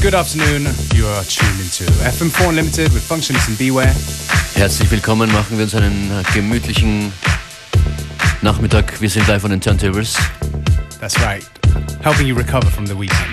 Good afternoon, you are tuned into FM4 Unlimited with Functionist and Beware. Herzlich willkommen, machen wir uns einen gemütlichen Nachmittag. Wir sind live on den Turntables. That's right, helping you recover from the weekend.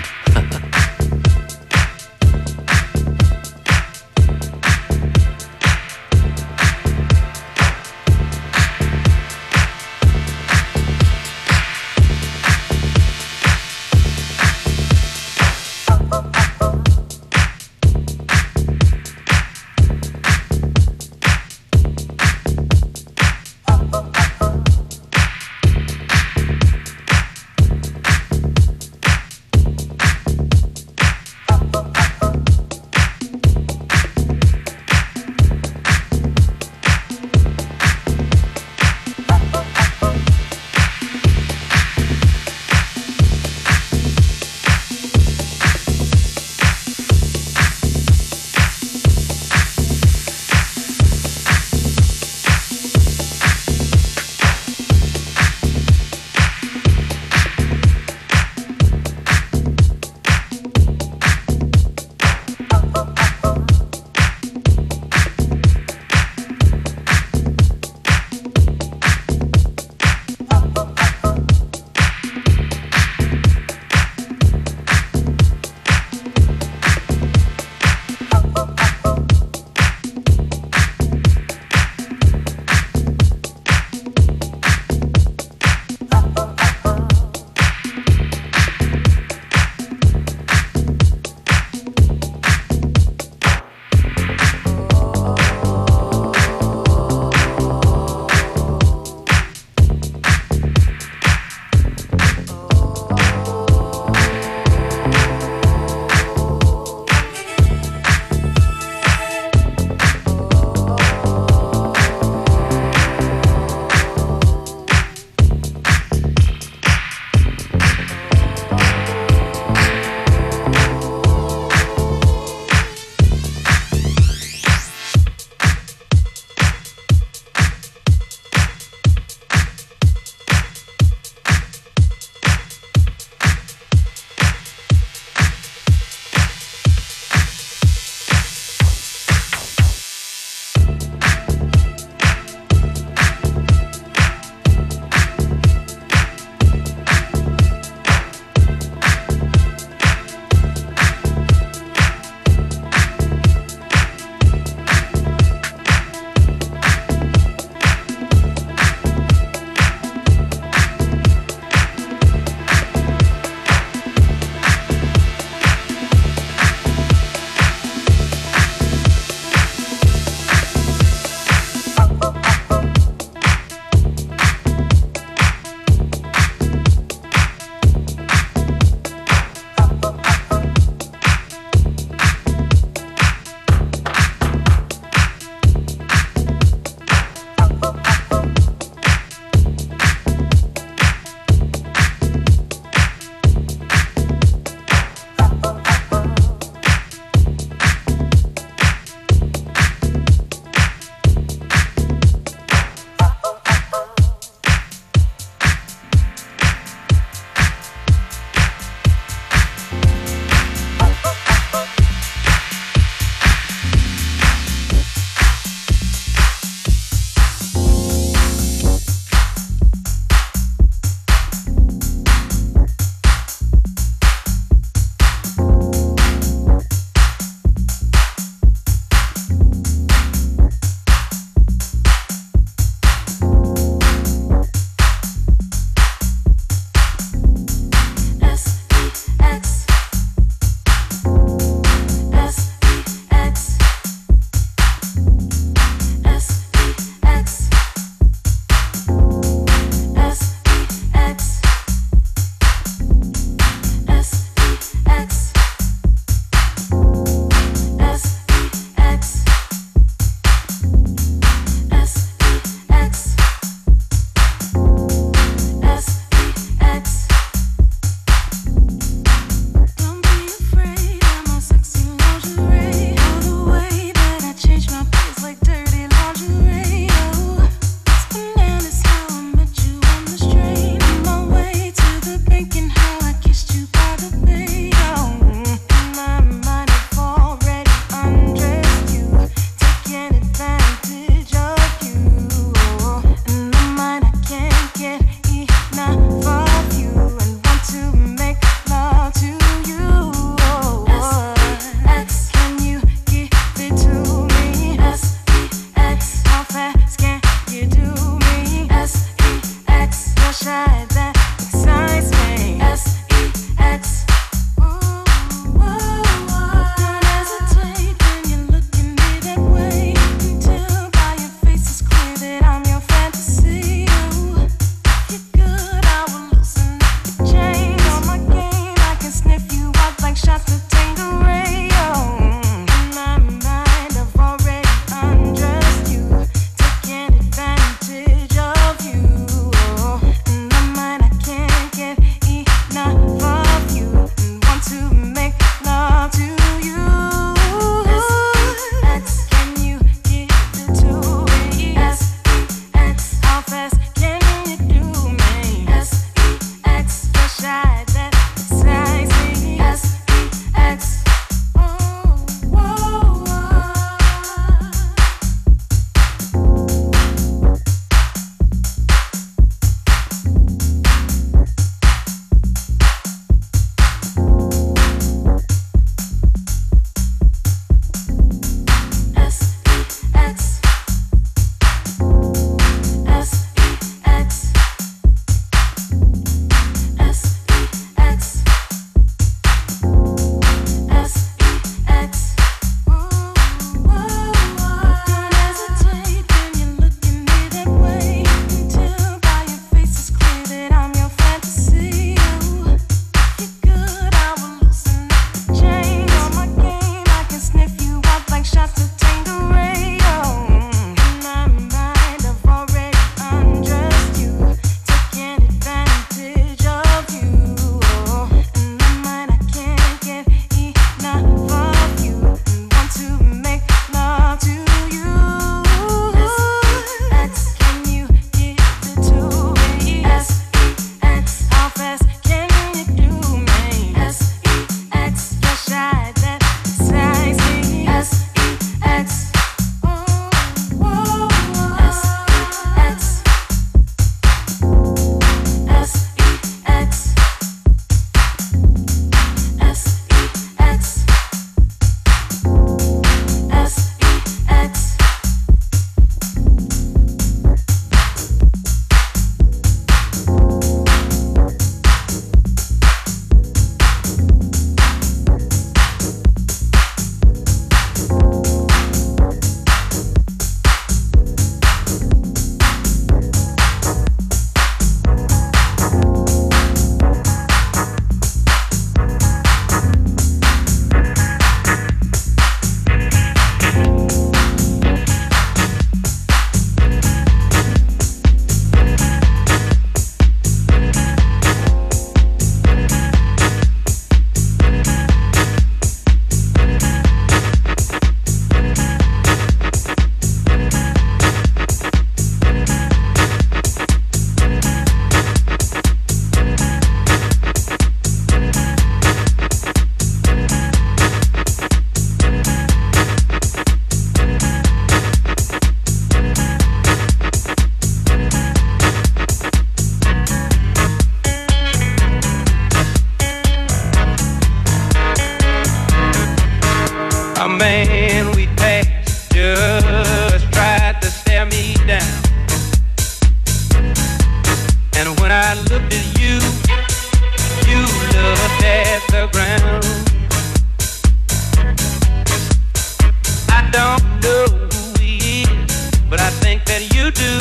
that you do.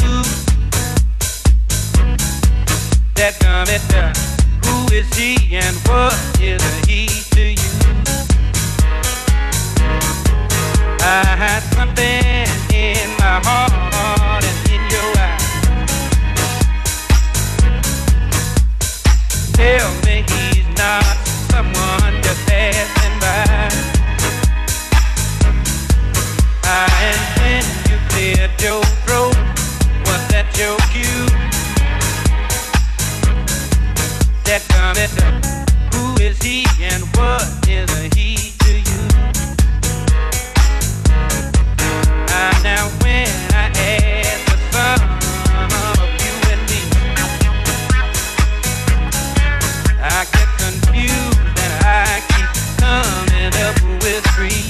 That dummy duck. Who is he and what is he to you? I had something in my heart and in your eyes. Tell me he's not someone just passing by. And when you cleared your throat, was that your cue? That dummy duck. Who is he and what is he to you? Now when I ask the sum of you and me, I get confused and I keep coming up with three.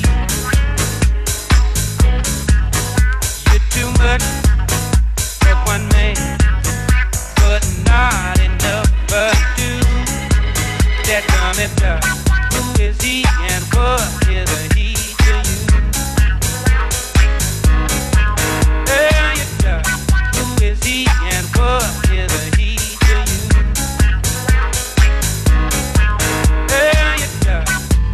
You're too much for one man, but not enough for two. That dummy duck. Who is he and what is he to you? Hey, you duck. Who is he and what is he to you? Hey, you duck.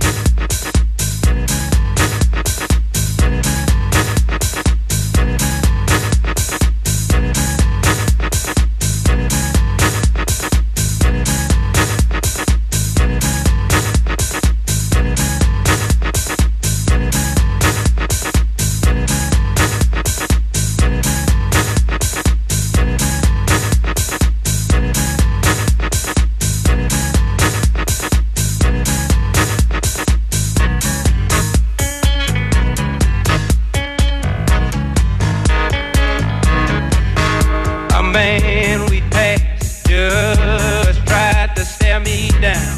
Man we passed just tried to stare me down,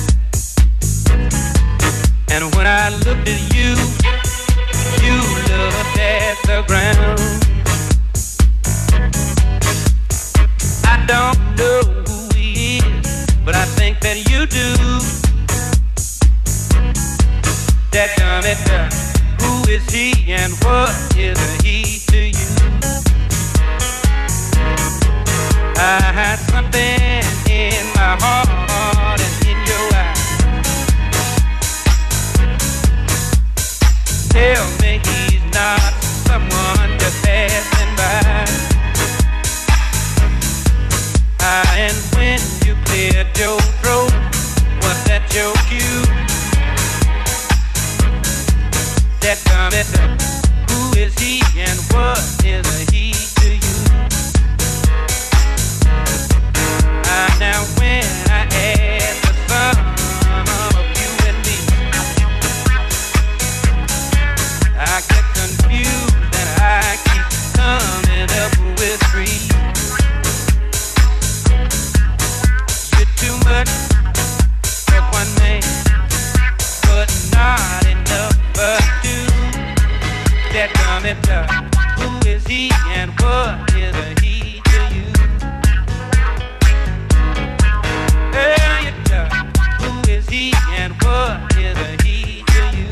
and when I looked at you, you looked at the ground. I don't know who he is, but I think that you do. That dummy duck. Who is he and what is he to you? I had something in my heart and in your eyes. Tell me he's not someone just passing by. And when you cleared your throat, was that your cue? That dummy duck. Who is he and what is he to you? Now when I ask the sum of you and me, I get confused and I keep coming up with three. You're too much for one man, but not enough for two. That dummy duck. Who is he and what is he to you? Hey, you duck. Who is he and what is he to you?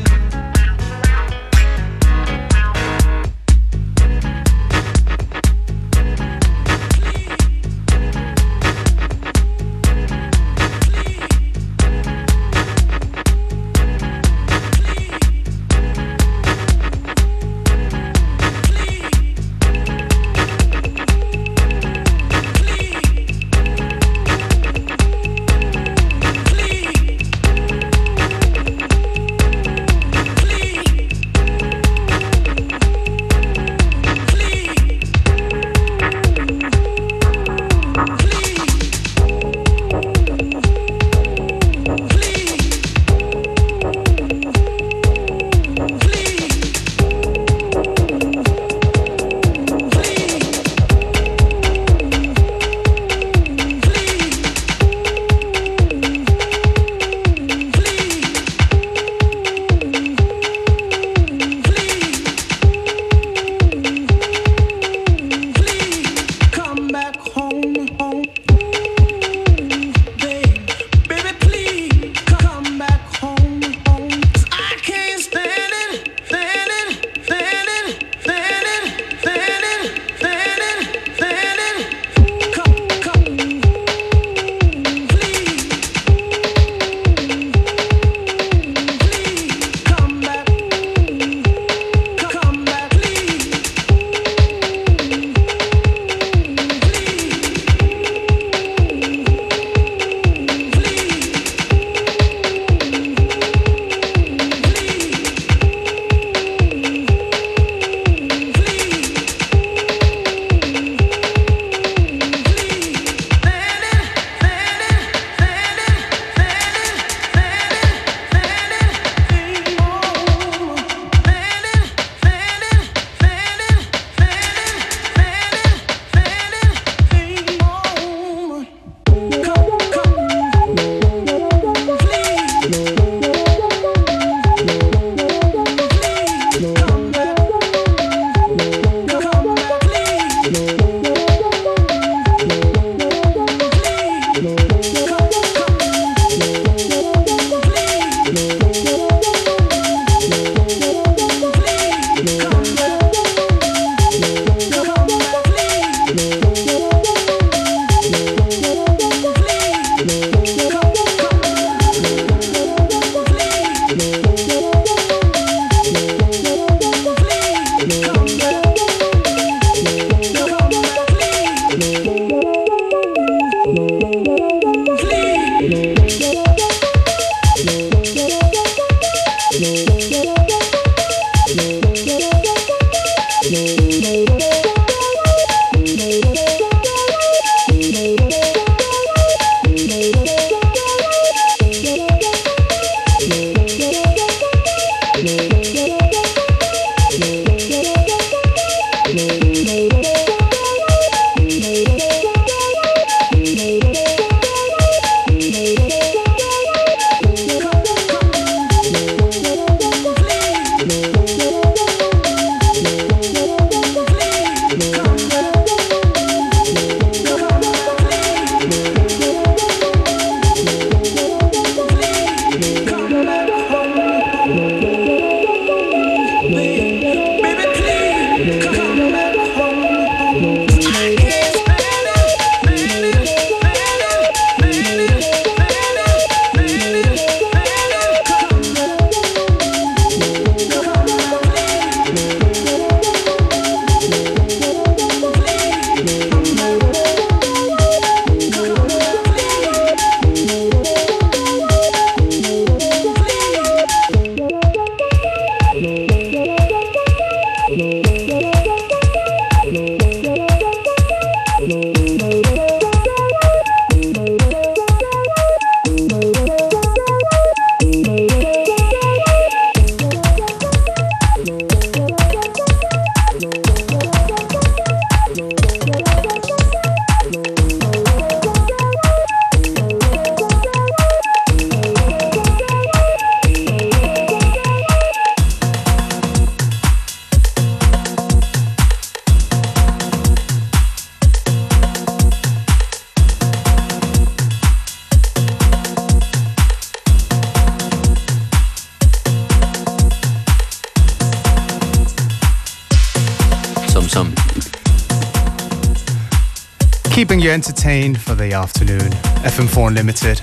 Keeping you entertained for the afternoon. FM4 Unlimited.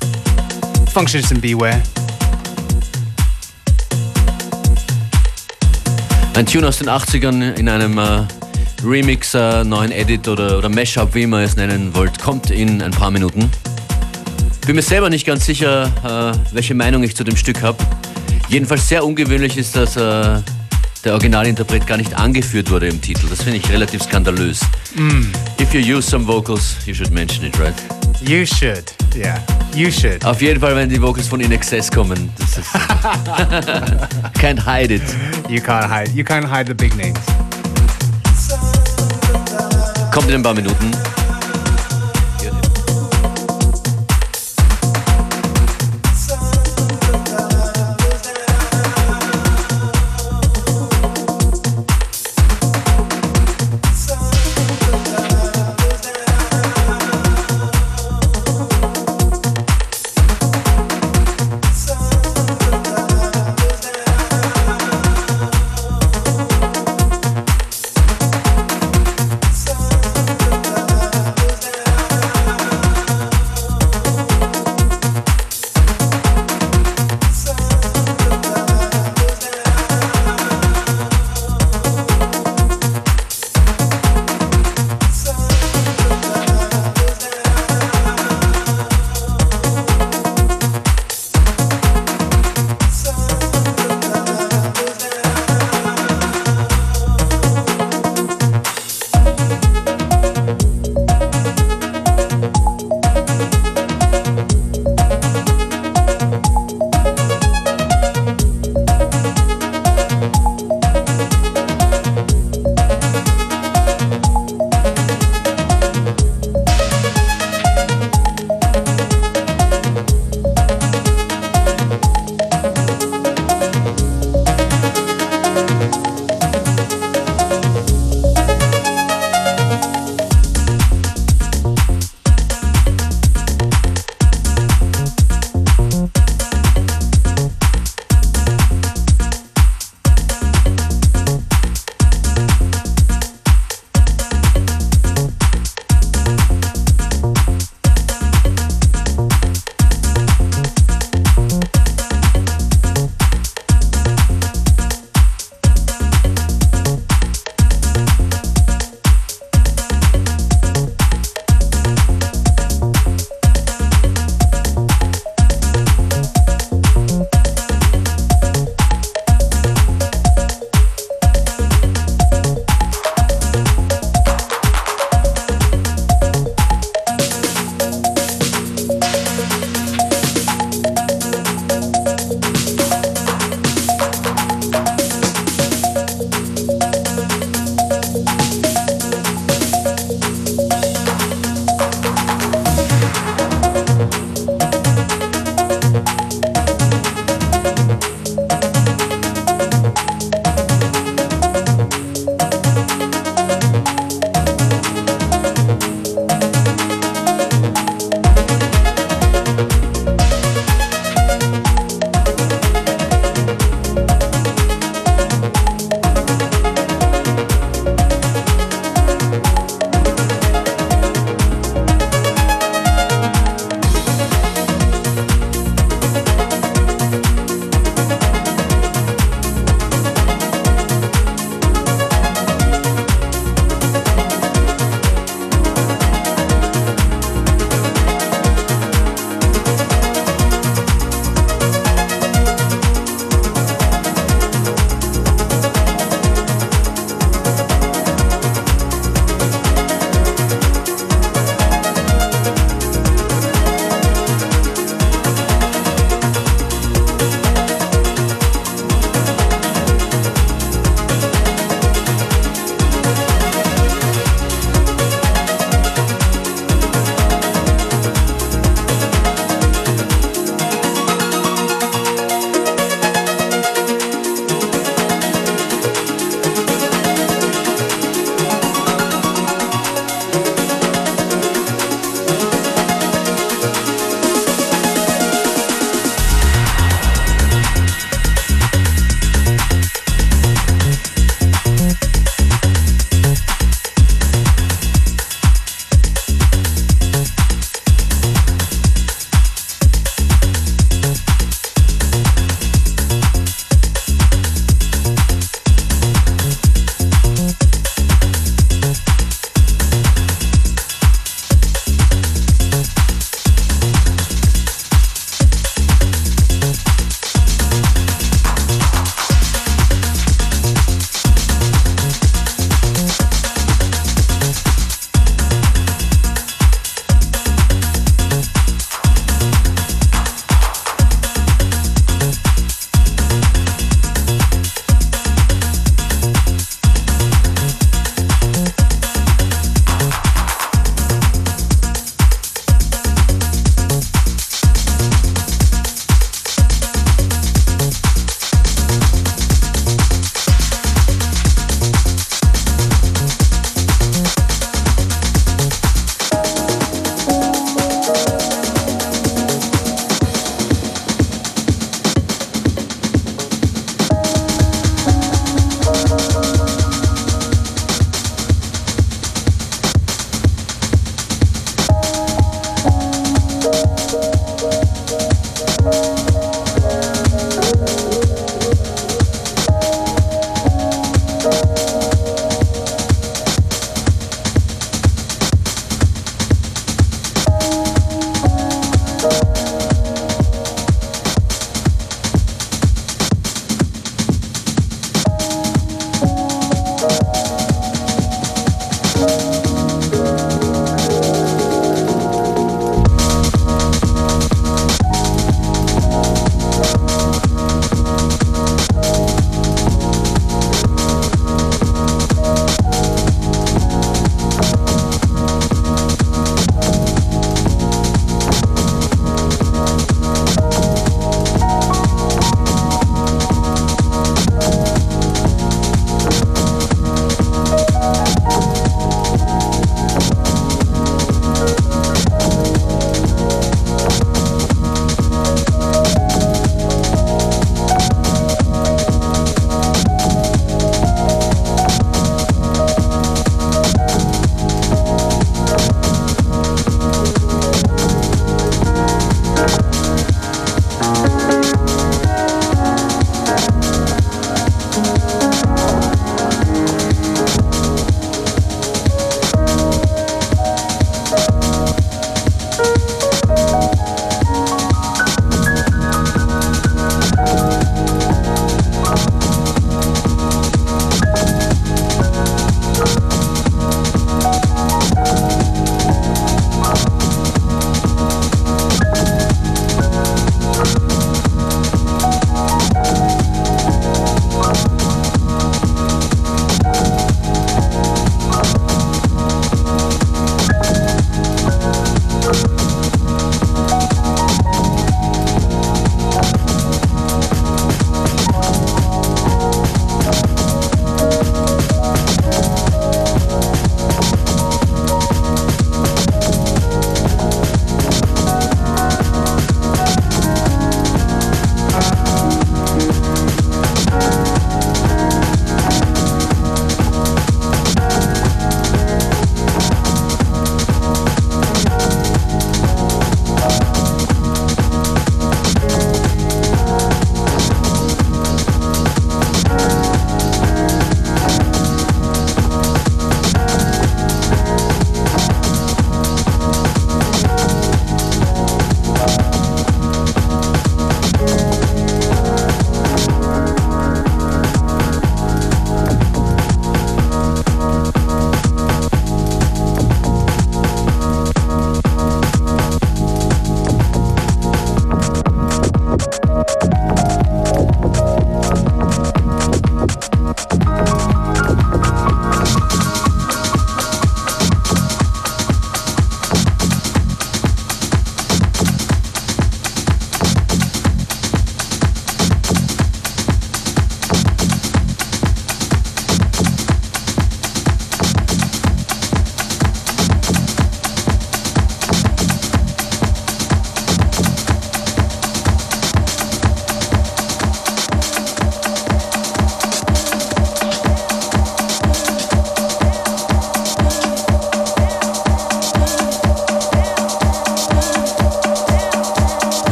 Functionist and Beware. Ein Tune aus den 80ern in einem Remix, neuen Edit oder Mashup, wie man es nennen wollt, kommt in ein paar Minuten. Bin mir selber nicht ganz sicher, welche Meinung ich zu dem Stück habe. Jedenfalls sehr ungewöhnlich ist, dass der Originalinterpret gar nicht angeführt wurde im Titel. Das finde ich relativ skandalös. If you use some vocals, you should mention it, right? You should, yeah, you should. Auf jeden Fall, wenn die Vocals von In Excess kommen. Das ist can't hide it. You can't hide the big names. Kommt in ein paar Minuten.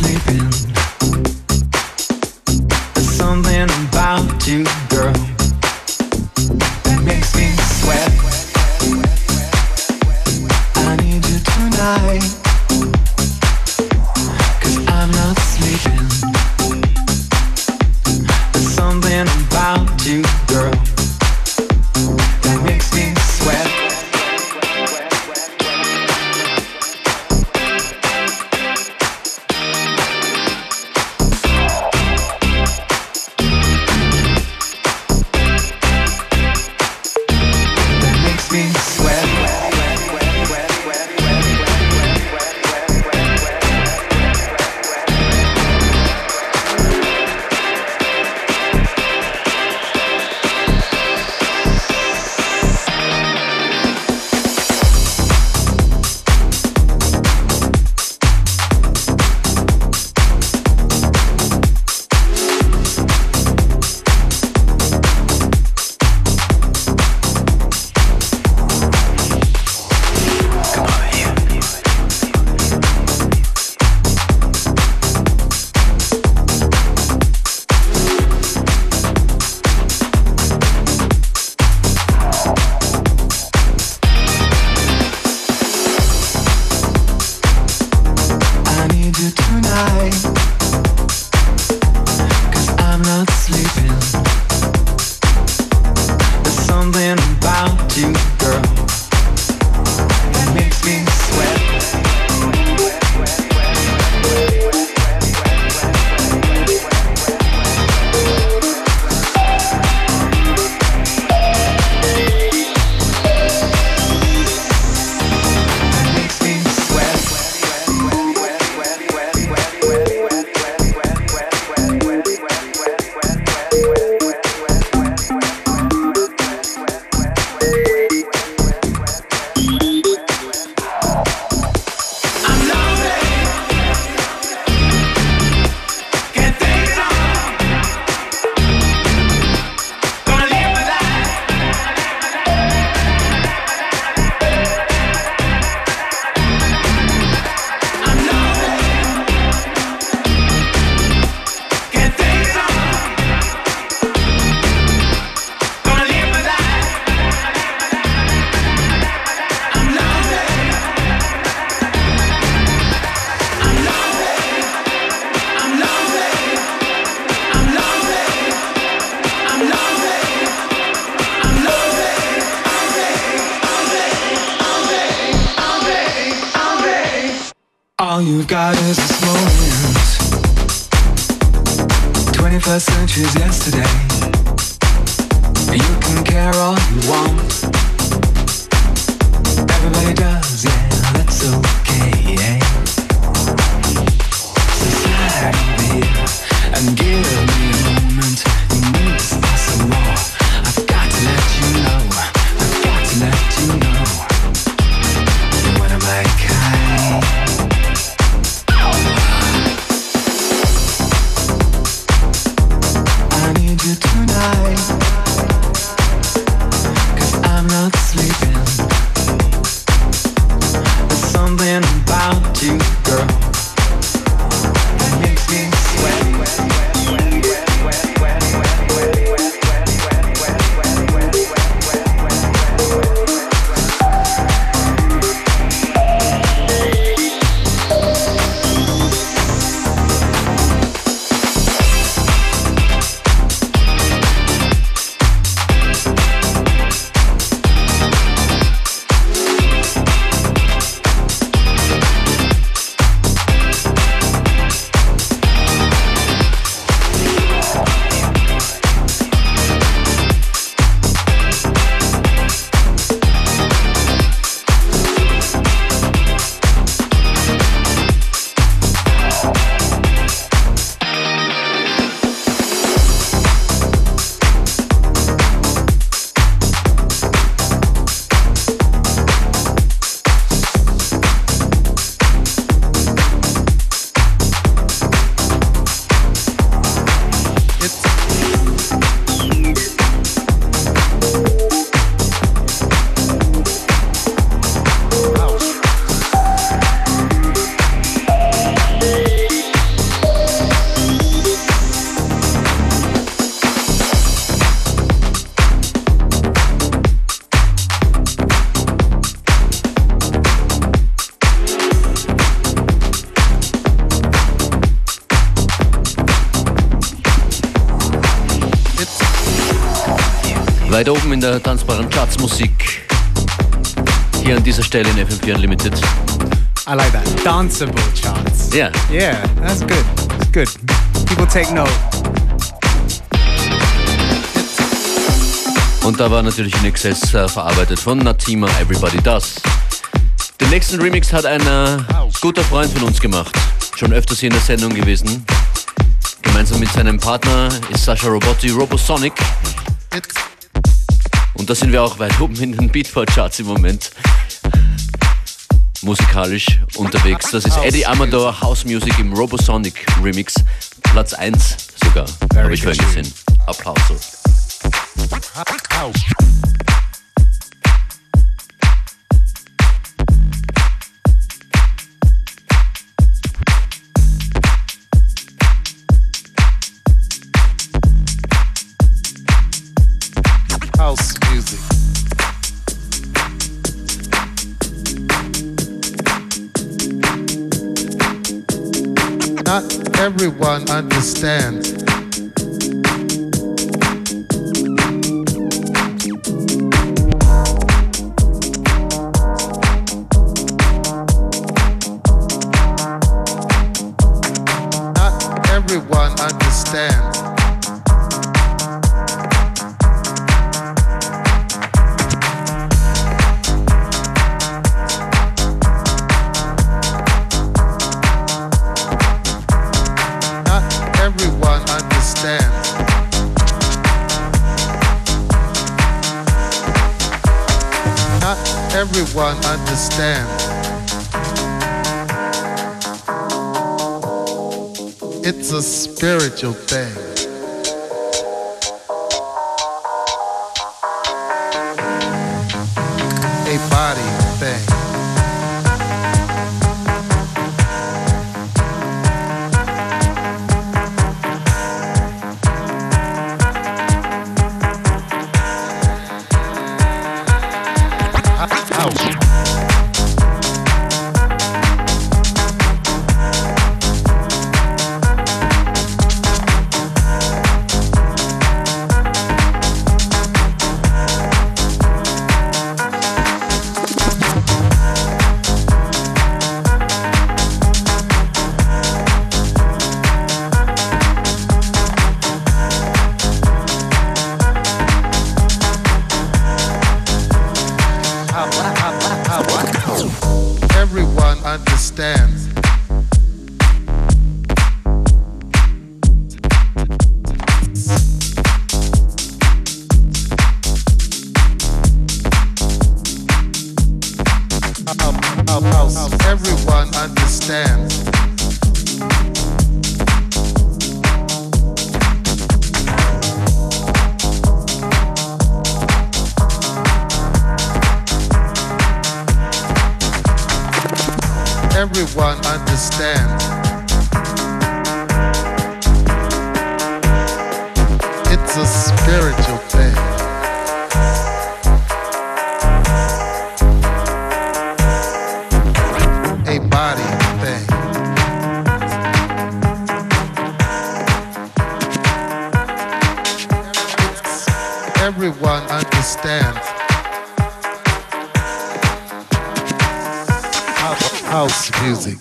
sleeping. There's something about you, girl, that makes me sweat. I need you tonight, 'cause I'm not sleeping. There's something about you, girl, that makes me sweat. All you've got is this moment. 21st century's yesterday. You can care all you want. Everybody does, yeah, that's okay, yeah. So slide over here and give me a moment. You need to start some more. I've got to let you know. I've got to let you know. You're one of my kind. You tonight, 'cause I'm not sleeping. There's something about you, Weit oben in der tanzbaren Chartsmusik. Hier an dieser Stelle in FM4 Unlimited. I like that. Danceable charts. Yeah. Yeah, that's good. It's good. People take note. Und da war natürlich in Excess verarbeitet von Natima, Everybody Does. Den nächsten Remix hat ein guter Freund von uns gemacht. Schon öfters hier in der Sendung gewesen. Gemeinsam mit seinem Partner ist Sascha Robotti, Robosonic. Und da sind wir auch weit oben in den Beatport-Charts im Moment. Musikalisch unterwegs. Das ist Eddie Amador, House Music im Robosonic Remix. Platz 1 sogar, habe ich vorhin gesehen. Applauso. House music. Not everyone understands. Not everyone understands. Everyone understands. Not everyone understands. It's a spiritual thing. A body thing. Everyone understands. Everyone understands. Everyone understands. It's a spiritual thing. A body thing. Everyone understands. House music.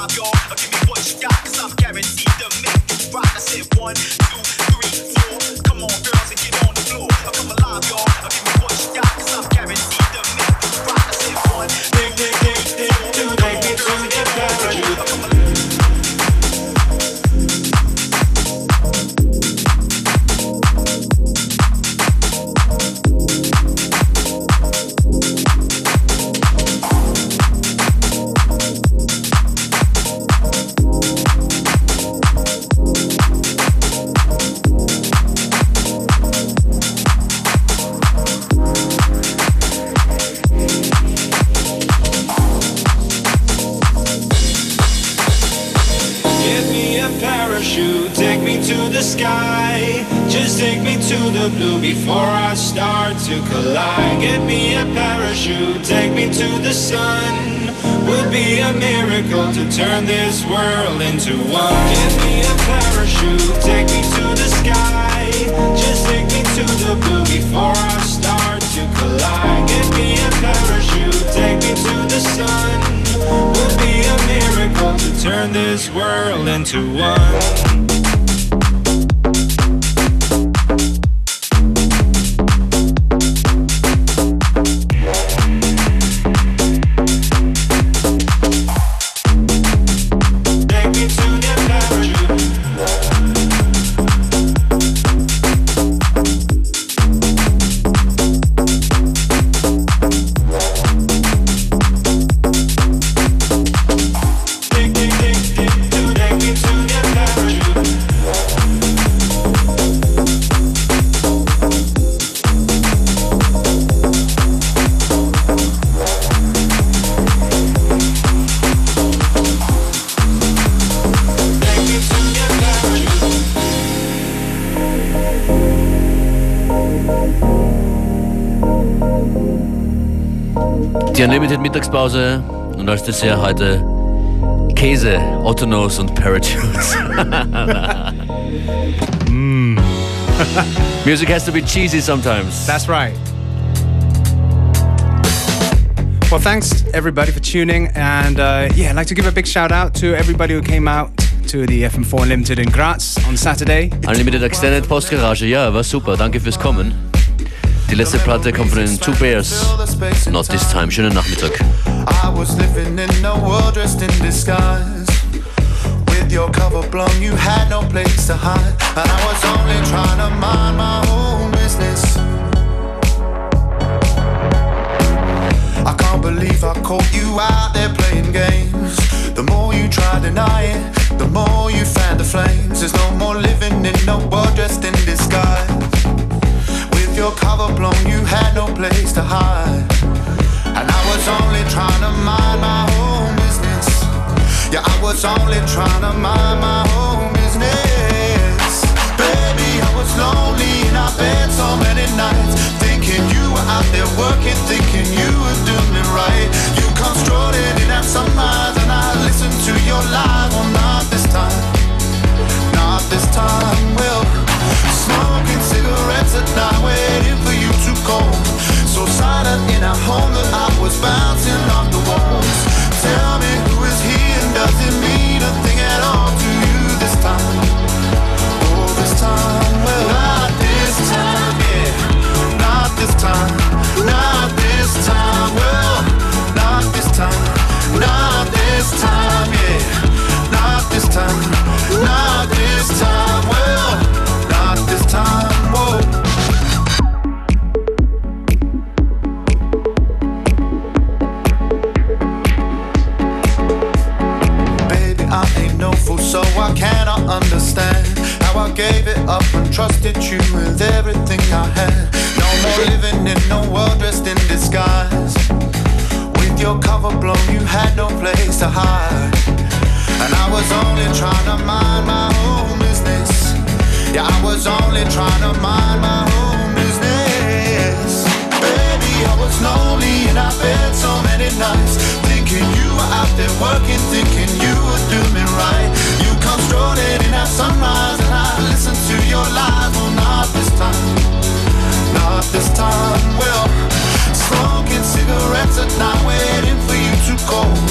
alive, y'all. Give me what you got, cause I'm guaranteed to make this rock. I said 1, 2, 3, 4. Come on, girls, and get on the floor. Come alive, y'all. Give me what you got, cause I'm guaranteed to make this rock. I said 1, 2, 3, 4. Come on, girls, and get on the floor. Blue before I start to collide. Get me a parachute, take me to the sun. Would be a miracle to turn this world into one. Get me a parachute, take me to the sky. Just take me to the blue before I start to collide. Get me a parachute, take me to the sun. Would be a miracle to turn this world into one. Die Unlimited Mittagspause und als Dessert heute Käse, Ottonos und Parachutes. Music has to be cheesy sometimes. That's right. Well, thanks everybody for tuning, and I'd like to give a big shout out to everybody who came out to the FM4 Unlimited in Graz on Saturday. Unlimited Extended Postgarage, ja, war super, danke fürs Kommen. Die letzte Platte kommt von den Two Bears. Not This Time. Schönen Nachmittag. I was living in a world dressed in disguise. With your cover blown, you had no place to hide. And I was only trying to mind my own business. I can't believe I caught you out there playing games. The more you try to deny it, the more you fan the flames. There's no more living in a world dressed in disguise. With your cover blown, you had no place to hide. And I was only trying to mind my own business. Yeah, I was only trying to mind my own business. Baby, I was lonely in our bed so many nights, thinking you were out there working, thinking you were doing it right. You come strolling in at sunrise and I listened to your lies. Well, not this time, not this time. Well, smoking cigarettes at night, waiting for you to call. So silent in our home that I was bouncing off the walls. Tell me who is he and does it mean a thing at all to you this time? Oh, this time, well, not this time, yeah. Not this time, not this time, well, not this time, not this time, yeah. Not this time, not this time, well, not this time, whoa. So I cannot understand how I gave it up and trusted you with everything I had. No more living in no world dressed in disguise. With your cover blown, you had no place to hide. And I was only trying to mind my own business. Yeah, I was only trying to mind my own business. Baby, I was lonely in our bed so many nights, thinking you were out there working, thinking you were doing it right. You come strolling in at sunrise and I listen to your lies. Well, not this time, not this time. Well, smoking cigarettes at night, waiting for you to call.